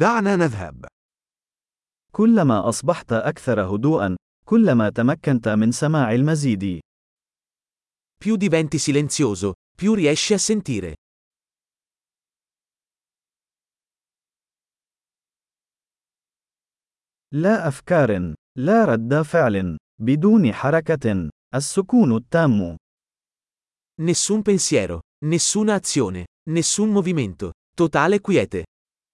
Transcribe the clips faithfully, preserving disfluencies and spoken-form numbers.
دعنا نذهب. كلما أصبحت أكثر هدوءًا، كلما تمكنت من سماع المزيد. Più diventi silenzioso, più riesci a sentire. لا أفكار، لا رد فعل، بدون حركة، السكون التام. Nessun pensiero, nessuna azione, nessun movimento, totale quiete.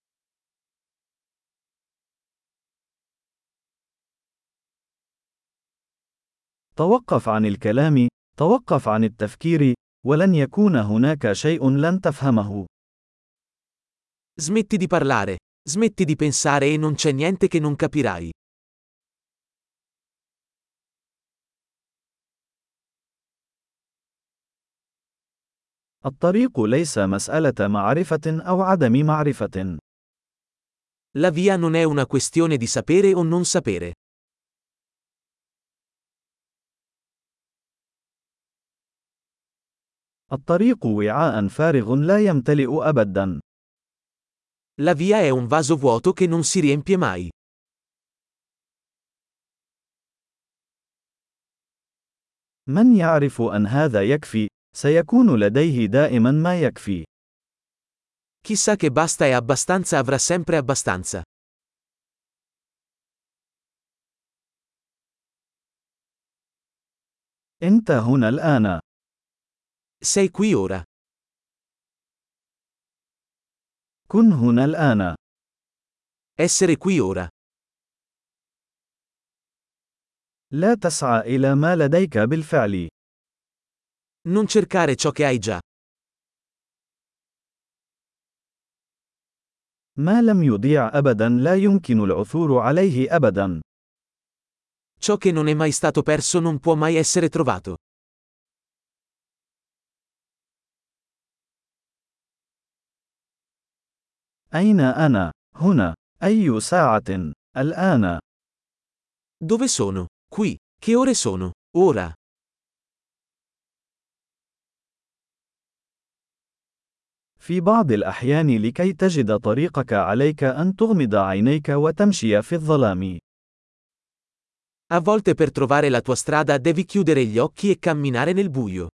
توقف عن الكلام، توقف عن التفكير، ولن يكون هناك شيء لن تفهمه. Smetti di parlare, smetti di pensare e non c'è niente che non capirai. الطريق ليس مسألة معرفة أو عدم معرفة. La via non è una questione di sapere o non sapere. الطريق وعاء فارغ لا يمتلئ أبدا. La via è un vaso vuoto che non si riempie mai. من يعرف أن هذا يكفي، سيكون لديه دائما ما يكفي. Chi sa che basta e abbastanza avrà sempre abbastanza. أنت هنا الآن. Sei qui ora. كن هنا الآن. Essere qui ora. لا تسعى إلى ما لديك بالفعل. Non cercare ciò che hai già. ما لم يضيع أبدا لا يمكن العثور عليه أبدا. Ciò che non è mai stato perso non può mai essere trovato. أين أنا؟ هنا. أي ساعة؟ الآن. Dove sono? Qui. Che ore sono? Ora. في بعض الأحيان لكي تجد طريقك عليك أن تغمض عينيك وتمشي في الظلام. A volte per trovare la tua strada devi chiudere gli occhi e camminare nel buio.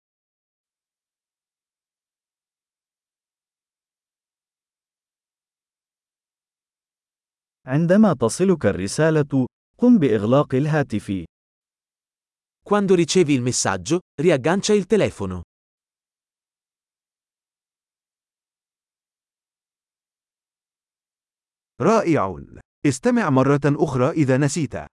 عندما تصلك الرسالة، قم بإغلاق الهاتف. Quando ricevi il messaggio, riaggancia il telefono. رائع. استمع مرة أخرى إذا نسيت.